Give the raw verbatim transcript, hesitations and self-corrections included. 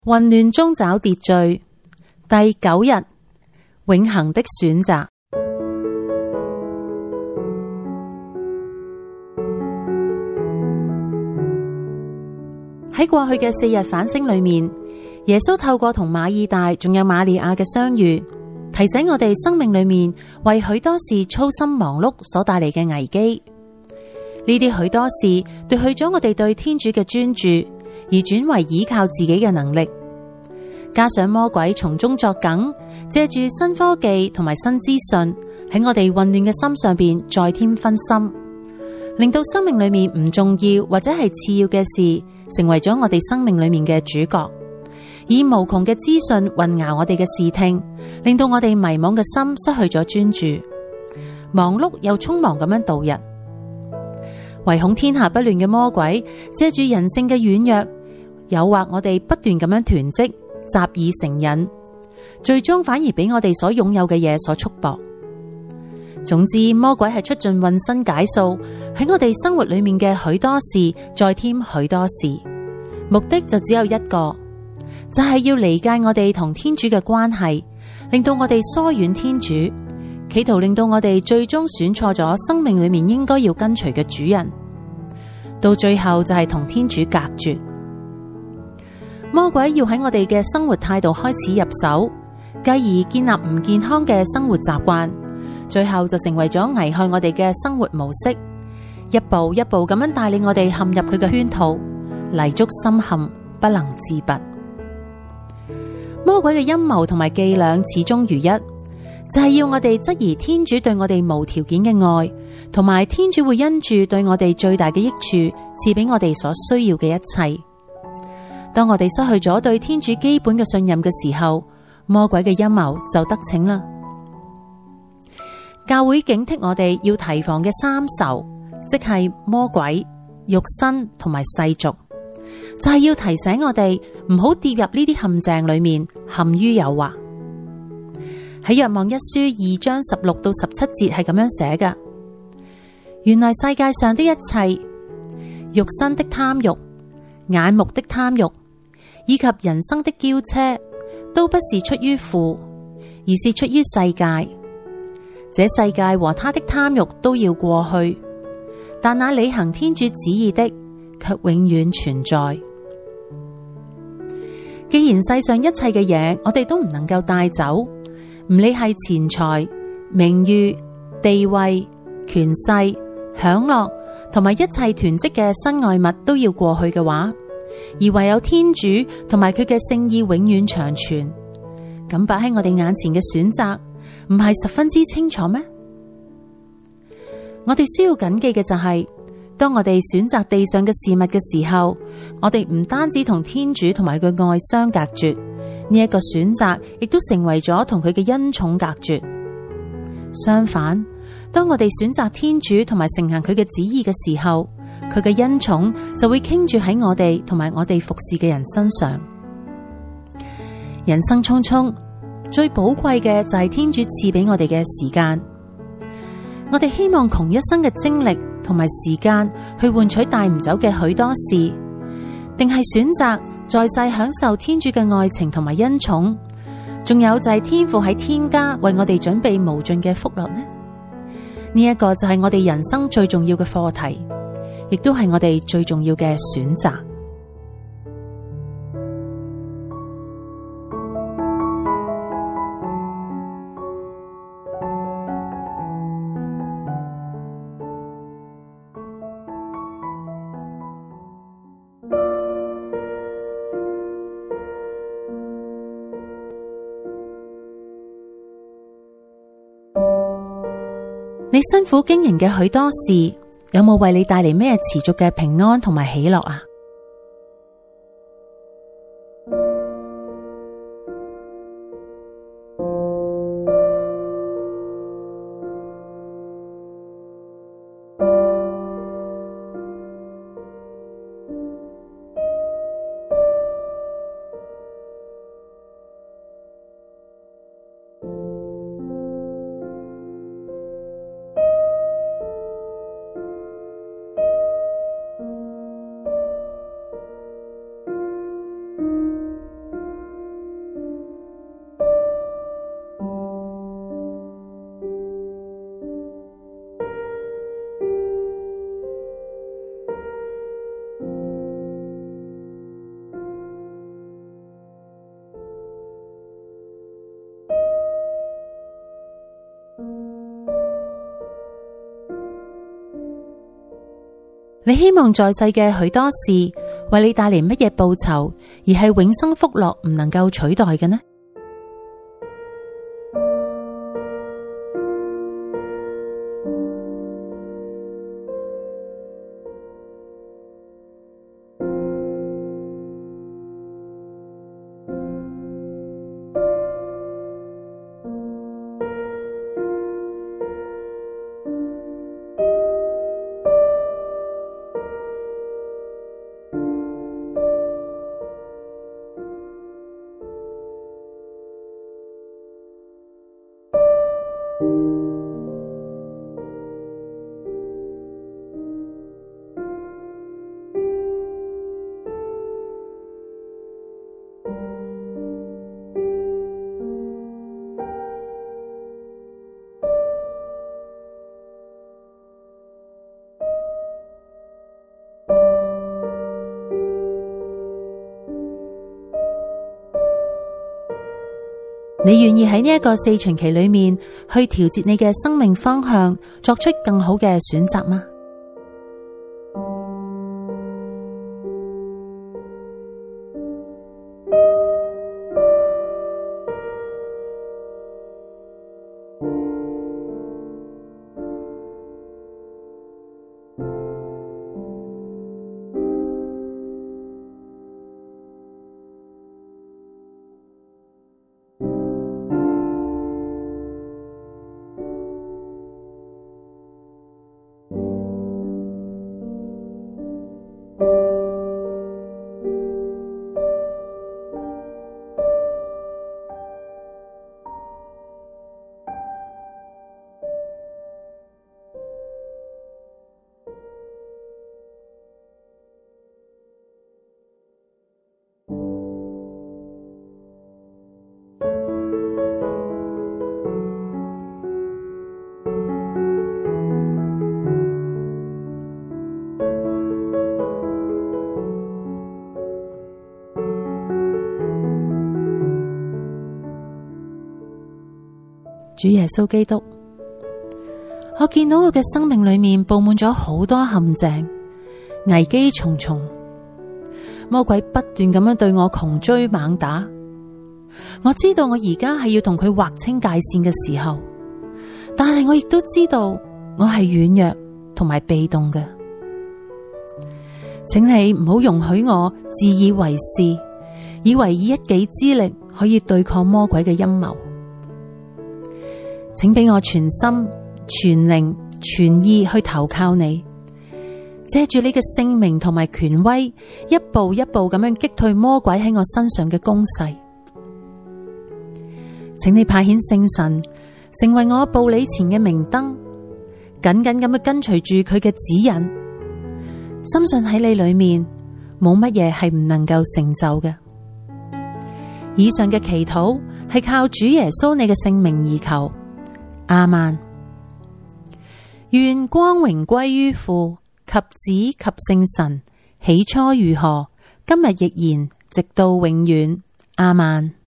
混亂中找秩序，第九日，永恆的選擇。喺過去嘅四日反省裏面，耶穌透過同馬爾大仲有瑪利亞嘅相遇，提醒我哋生命裏面為許多事操心忙碌所帶嚟嘅危機。呢啲許多事奪去咗我哋對天主嘅專注，而轉為依靠自己嘅能力。加上魔鬼從中作梗，借住新科技同埋新資訊喺我哋混亂嘅心上邊再添分心，令到生命裏面唔重要或者係次要嘅事成為咗我哋生命裏面嘅主角，以無窮嘅資訊混淆我哋嘅視聽，令到我哋迷惘嘅心失去咗專注，忙碌又匆忙咁樣度日。唯恐天下不亂嘅魔鬼借住人性嘅軟弱，誘惑我哋不斷咁樣囤積，習以成癮，最終反而俾我哋所擁有嘅嘢所束縛。總之，魔鬼係出盡渾身解數，喺我哋生活裏面嘅許多事再添許多事，目的就只有一個，就係要離間我哋同天主嘅關係，令到我哋疏遠天主，企圖令到我哋最終選錯咗生命裏面應該要跟隨嘅主人，到最後就係同天主隔絕。魔鬼要喺我哋嘅生活態度開始入手，繼而建立唔健康嘅生活習慣，最後就成為咗危害我哋嘅生活模式，一步一步咁樣帶領我哋陷入佢嘅圈套，泥足深陷，不能自拔。魔鬼嘅陰謀同埋伎倆始終如一，就係要我哋質疑天主對我哋無條件嘅愛，同埋天主會因住對我哋最大嘅益處，賜俾我哋所需要嘅一切。當我哋失去咗對天主基本嘅信任嘅時候，魔鬼嘅陰謀就得逞啦。教會警惕我哋要提防嘅三仇，即係魔鬼、肉身同埋世俗，就係要提醒我哋唔好跌入呢啲陷阱裏面，陷於誘惑。喺若望一書二章十六到十七節係咁樣寫㗎：原來世界上的一切，肉身的貪慾、眼目的貪慾，以及人生的驕奢，都不是出於父，而是出於世界。這世界和他的貪慾都要過去，但那履行天主旨意的，卻永遠存在。既然世上一切嘅嘢，我哋都唔能夠帶走，唔理係錢財、名譽、地位、權勢、享樂，同埋一切囤積嘅身外物都要過去嘅話，而唯有天主同埋佢嘅聖意永遠長存，咁擺喺我哋眼前嘅選擇，唔係十分之清楚咩？我哋需要謹記嘅就係，當我哋選擇地上嘅事物嘅時候，我哋唔單止同天主同埋佢嘅愛相隔絕，呢一個選擇亦都成為咗同佢嘅恩寵隔絕。相反，當我哋選擇天主同埋承行佢嘅旨意嘅時候，佢嘅恩寵就會傾注喺我哋同埋我哋服侍嘅人身上。人生匆匆，最寶貴嘅就係天主賜俾我哋嘅時間。我哋希望窮一生嘅精力同埋時間去換取帶唔走嘅許多事，定係選擇在世享受天主嘅愛情同埋恩寵，仲有就係天父喺天家為我哋準備無盡嘅福樂呢？呢一個就係我哋人生最重要嘅課題，亦都係我哋最重要嘅選擇。你辛苦經營嘅許多事，有冇為你帶嚟咩持續嘅平安同埋喜樂啊？ 你希望在世嘅許多事為你帶嚟乜嘢報酬，而係永生福樂唔能夠取代嘅呢？你願意喺呢一個四旬期裏面去調節你嘅生命方向，作出更好嘅選擇嗎？主耶穌基督，我見到我嘅生命裏面布滿咗好多陷阱，危機重重，魔鬼不斷咁樣對我窮追猛打。我知道我而家係要同佢劃清界線嘅時候，但係我亦都知道我係軟弱同埋被動嘅。請你唔好容許我自以為是，以為以一己之力可以對抗魔鬼嘅陰謀。請俾我全心、全靈、全意去投靠你，借住你嘅聖名同埋權威，一步一步咁樣擊退魔鬼喺我身上嘅攻勢。請你派遣聖神成為我步履前嘅明燈，緊緊咁樣跟隨住佢嘅指引，深信喺你裏面冇乜嘢係唔能夠成就嘅。以上嘅祈禱係靠主耶穌你嘅聖名而求。阿們。願光榮歸於父及子及聖神，起初如何，今日亦然，直到永遠。阿們。